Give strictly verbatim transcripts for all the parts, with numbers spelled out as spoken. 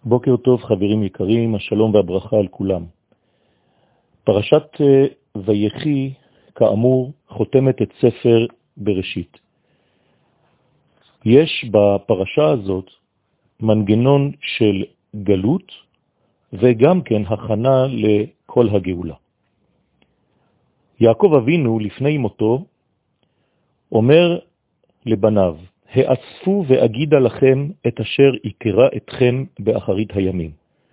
בוקר טוב חברים יקרים, השלום והברכה על כולם. פרשת ויחי כאמור חותמת את ספר בראשית. יש בפרשה הזאת מנגנון של גלות וגם כן הכנה לכל הגאולה. יעקב אבינו לפני מותו אומר לבניו, האספו ואגידה לכם את אשר יקרא אתכם באחרית הימים.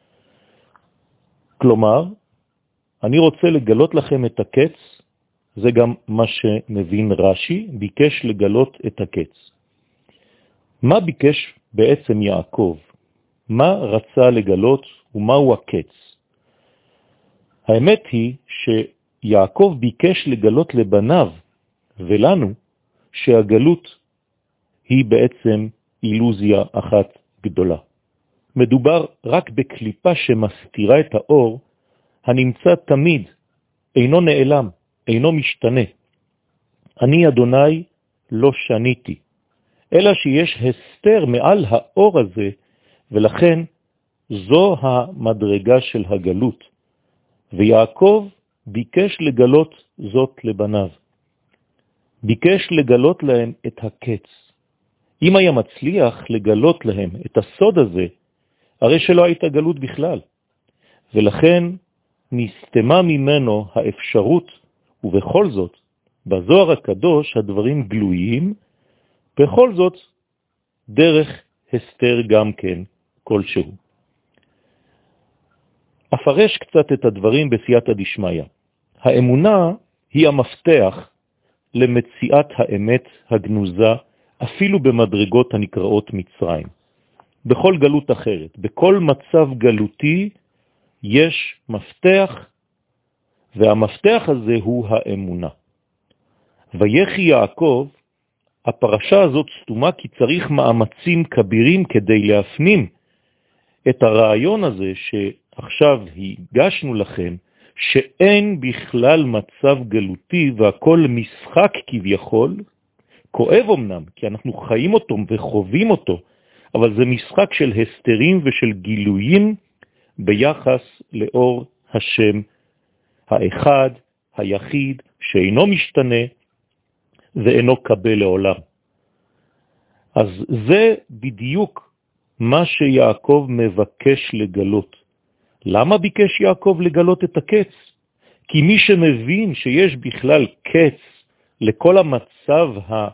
כלומר, אני רוצה לגלות לכם את הקץ, זה גם מה שמבין רש"י, ביקש לגלות את הקץ. מה ביקש בעצם יעקב? מה רצה לגלות ומהו הקץ? האמת היא שיעקב ביקש לגלות לבניו ולנו שהגלות היא בעצם אילוזיה אחת גדולה. מדובר רק בקליפה שמסתירה את האור, הנמצא תמיד, אינו נעלם, אינו משתנה. אני אדוני לא שניתי, אלא שיש הסתר מעל האור הזה, ולכן זו המדרגה של הגלות. ויעקב ביקש לגלות זאת לבניו. ביקש לגלות להם את הקץ. אם היה מצליח לגלות להם את הסוד הזה, הרי שלא הייתה גלות בכלל. ולכן נסתמה ממנו האפשרות, ובכל זאת, בזוהר הקדוש הדברים גלויים, בכל זאת דרך הסתר גם כן כלשהו. אפרש קצת את הדברים בסייעתא דשמיא. האמונה היא המפתח למציאת האמת הגנוזה, אפילו במדרגות הנקראות מצרים. בכל גלות אחרת, בכל מצב גלותי, יש מפתח, והמפתח הזה הוא האמונה. ויחי יעקב, הפרשה הזאת סתומה כי צריך מאמצים כבירים כדי להפנים את הרעיון הזה שעכשיו הגשנו לכם, שאין בכלל מצב גלותי והכל משחק כביכול, כואב אמנם, כי אנחנו חיים אותו וחווים אותו, אבל זה משחק של הסתרים ושל גילויים ביחס לאור השם האחד, היחיד, שאינו משתנה ואינו קבל לעולם. אז זה בדיוק מה שיעקב מבקש לגלות. למה ביקש יעקב לגלות את הקץ? כי מי שמבין שיש בכלל קץ לכל המצב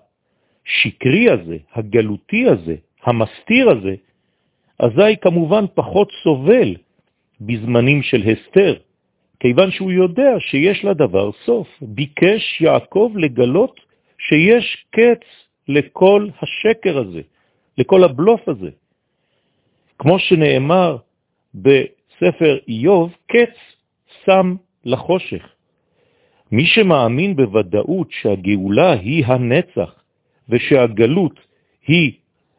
השקרי הזה, הגלותי הזה, המסתיר הזה, אזי כמובן פחות סובל בזמנים של הסתר, כיוון שהוא יודע שיש לדבר סוף. ביקש יעקב לגלות שיש קץ לכל השקר הזה, לכל הבלוף הזה. כמו שנאמר בספר איוב, קץ שם לחושך. מי שמאמין בוודאות שהגאולה היא הנצח, ושהגלות היא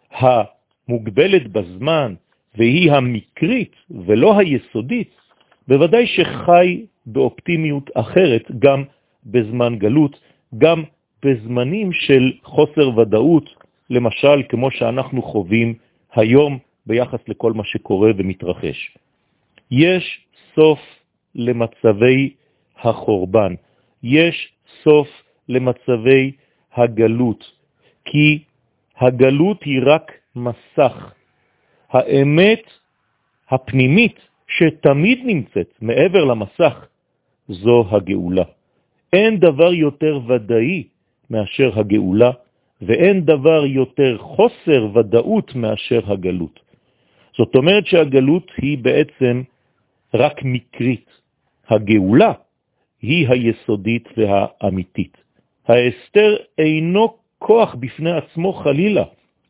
המוגבלת בזמן, והיא המקרית ולא היסודית, בוודאי שחי באופטימיות אחרת גם בזמן גלות, גם בזמנים של חוסר ודאות, למשל כמו שאנחנו חווים היום ביחס לכל מה שקורה ומתרחש. יש סוף למצבי החורבן, יש סוף למצבי הגלות, כי הגלות היא רק מסך. האמת הפנימית שתמיד נמצאת מעבר למסך, זו הגאולה. אין דבר יותר ודאי מאשר הגאולה, ואין דבר יותר חוסר ודאות מאשר הגלות. זאת אומרת שהגלות היא בעצם רק מקרית. הגאולה היא היסודית והאמיתית. ההסתר אינו כוח בפני עצמו חלילה.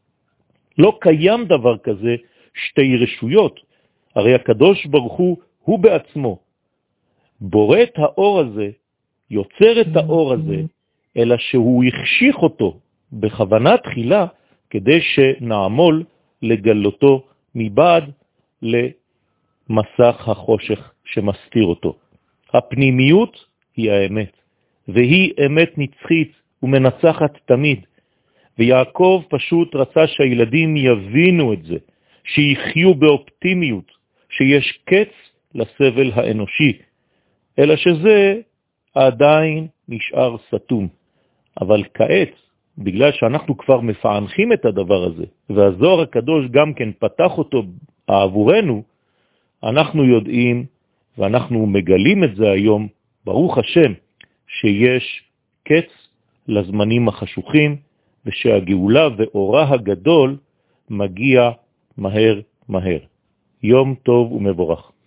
לא קיים דבר כזה שתי רשויות. הרי הקדוש ברוך הוא, הוא בעצמו בורא את האור הזה, יוצר את האור הזה, אלא שהוא יחשיך אותו בכוונה תחילה, כדי שנעמול לגלותו מבעד למסך החושך שמסתיר אותו. הפנימיות היא האמת, והיא אמת נצחית ומנצחת תמיד. ויעקב פשוט רצה שהילדים יבינו את זה, שיחיו באופטימיות, שיש קץ לסבל האנושי, אלא שזה עדיין נשאר סתום. אבל כעת, בגלל שאנחנו כבר מפענחים את הדבר הזה, והזוהר הקדוש גם כן פתח אותו עבורנו, אנחנו יודעים ואנחנו מגלים את זה היום, ברוך השם, שיש קץ לזמנים החשוכים, ושהגאולה ואורה הגדול מגיע מהר מהר. יום טוב ומבורך.